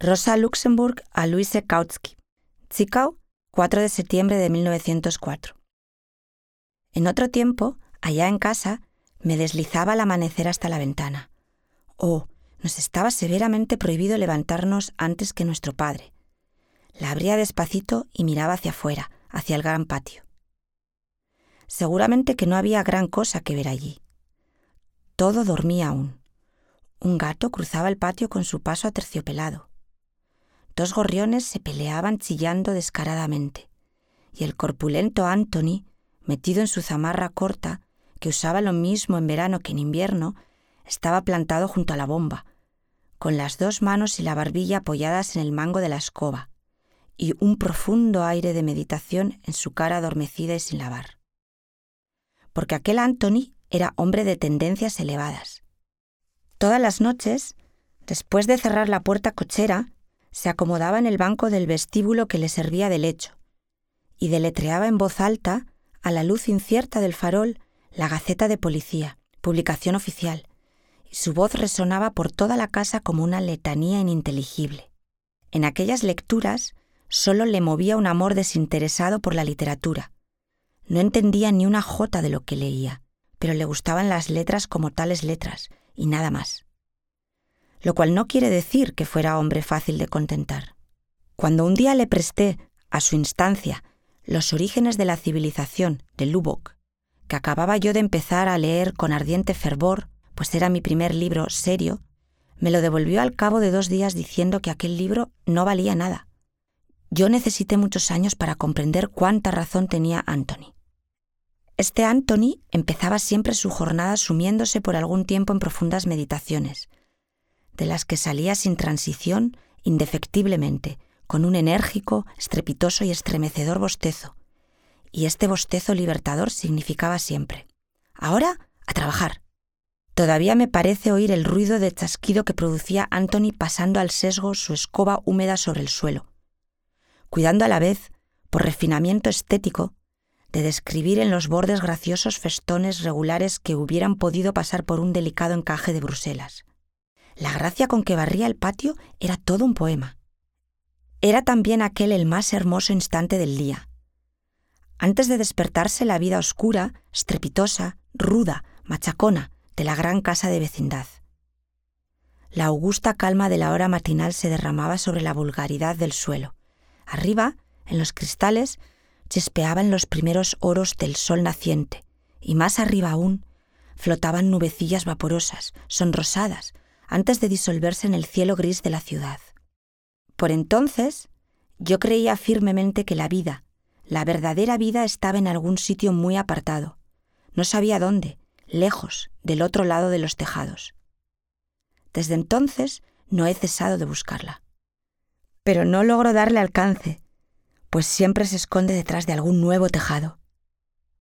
Rosa Luxemburg a Luise Kautsky. Zwickau, 4 de septiembre de 1904. En otro tiempo, allá en casa, me deslizaba al amanecer hasta la ventana. Oh, nos estaba severamente prohibido levantarnos antes que nuestro padre. La abría despacito y miraba hacia afuera, hacia el gran patio. Seguramente que no había gran cosa que ver allí. Todo dormía aún. Un gato cruzaba el patio con su paso aterciopelado. 2 gorriones se peleaban chillando descaradamente, y el corpulento Anthony, metido en su zamarra corta, que usaba lo mismo en verano que en invierno, estaba plantado junto a la bomba, con las 2 manos y la barbilla apoyadas en el mango de la escoba, y un profundo aire de meditación en su cara adormecida y sin lavar. Porque aquel Anthony era hombre de tendencias elevadas. Todas las noches, después de cerrar la puerta cochera, se acomodaba en el banco del vestíbulo que le servía de lecho y deletreaba en voz alta, a la luz incierta del farol, la Gaceta de Policía, publicación oficial, y su voz resonaba por toda la casa como una letanía ininteligible. En aquellas lecturas solo le movía un amor desinteresado por la literatura. No entendía ni una jota de lo que leía, pero le gustaban las letras como tales letras, y nada más. Lo cual no quiere decir que fuera hombre fácil de contentar. Cuando un día le presté, a su instancia, Los orígenes de la civilización, de Lubbock, que acababa yo de empezar a leer con ardiente fervor, pues era mi primer libro serio, me lo devolvió al cabo de 2 días diciendo que aquel libro no valía nada. Yo necesité muchos años para comprender cuánta razón tenía Anthony. Este Anthony empezaba siempre su jornada sumiéndose por algún tiempo en profundas meditaciones, de las que salía sin transición, indefectiblemente, con un enérgico, estrepitoso y estremecedor bostezo. Y este bostezo libertador significaba siempre: «Ahora, a trabajar». Todavía me parece oír el ruido de chasquido que producía Anthony pasando al sesgo su escoba húmeda sobre el suelo, cuidando a la vez, por refinamiento estético, de describir en los bordes graciosos festones regulares que hubieran podido pasar por un delicado encaje de Bruselas. La gracia con que barría el patio era todo un poema. Era también aquel el más hermoso instante del día. Antes de despertarse la vida oscura, estrepitosa, ruda, machacona de la gran casa de vecindad. La augusta calma de la hora matinal se derramaba sobre la vulgaridad del suelo. Arriba, en los cristales, chispeaban los primeros oros del sol naciente, y más arriba aún, flotaban nubecillas vaporosas, sonrosadas, antes de disolverse en el cielo gris de la ciudad. Por entonces, yo creía firmemente que la vida, la verdadera vida, estaba en algún sitio muy apartado. No sabía dónde, lejos, del otro lado de los tejados. Desde entonces no he cesado de buscarla. Pero no logro darle alcance, pues siempre se esconde detrás de algún nuevo tejado.